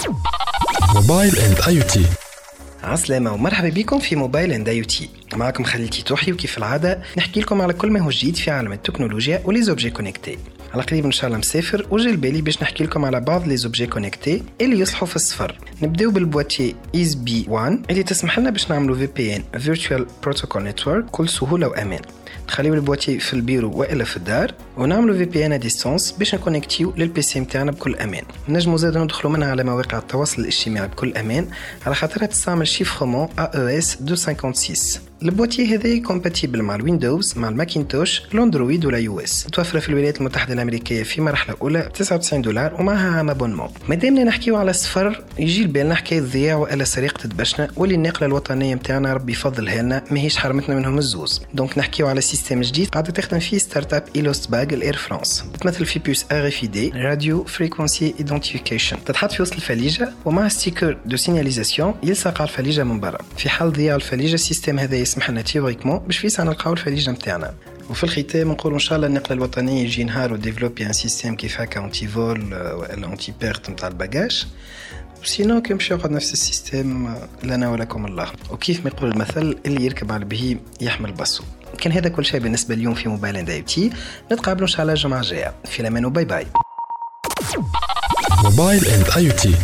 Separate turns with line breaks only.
موبايل اند اي تي.
عسلامة ومرحبا بكم في موبايل اند اي تي. معكم خليل توحي، وكيف العادة نحكي لكم على كل ما هو جديد في عالم التكنولوجيا ولي زوبجي كونيكتي. على قريب ان شاء الله مسافر وجا بالي باش نحكي لكم على بعض لي زوبجي كونيكتي اللي يصلحوا في السفر. نبداو بالبواتي ايز بي 1 اللي تسمح لنا باش نعملوا في بي ان فيرتشوال بروتوكول نتورك بكل سهوله وامان. نخليو البواتي في البيرو والا في الدار ونعملوا في بي ان ديستانس باش نكونيكتيو للبي سي نتاعنا بكل امان. نجموا زاد ندخلوا منها على مواقع التواصل الاجتماعي بكل امان على خاطرها تستعمل شيفرمون AES 256. البواتي هذا كومباتيبل مع الويندوز، مع الماكينتوش، الاندرويد ولا يو اس. متوفره في الولايات المتحده الامريكيه في مرحله اولى ب $99 ومعها عام ابونمون. مادامنا نحكيو على السفر يجي لبالنا حكايه ضياع والا سرقه دبشنا، واللي النقله الوطنيه نتاعنا ربي يفضلها لنا ماهيش حرمتنا منهم الزوز. دونك نحكيو على سيستم جديد قاعده تخدم فيه ستارت اب ايلوست باغ الاير فرانس، تمثل في بوس RFID راديو فريكونسي ايدنتيفيكيشن، تتحط في وسط الفليجه ومع ستيكر دو سيناليزاسيون يلصق على الفليجه من برا. في حال ضياع الفليجه السيستم هذا يسمح لنا تيوريكمون باش فيسع نلقاو الفليجه نتاعنا. وفي الختام نقول ان شاء الله النقله الوطنيه يجي نهار وديفلوبي ان سيستم كيف هكا اونتي فول ولا اونتي بيرت نتاع الباجاج، وسينو كي مشي يقعد نفس السيستم لنا ولكم الله. وكيف ما يقول المثل اللي يركب على البهيم يحمل بصو. كان هذا كل شيء بالنسبه اليوم في موبايل اند اي تي. نتقابلوا ان شاء الله الجمعه الجايه. في الامان وباي باي.
موبايل اند اي تي.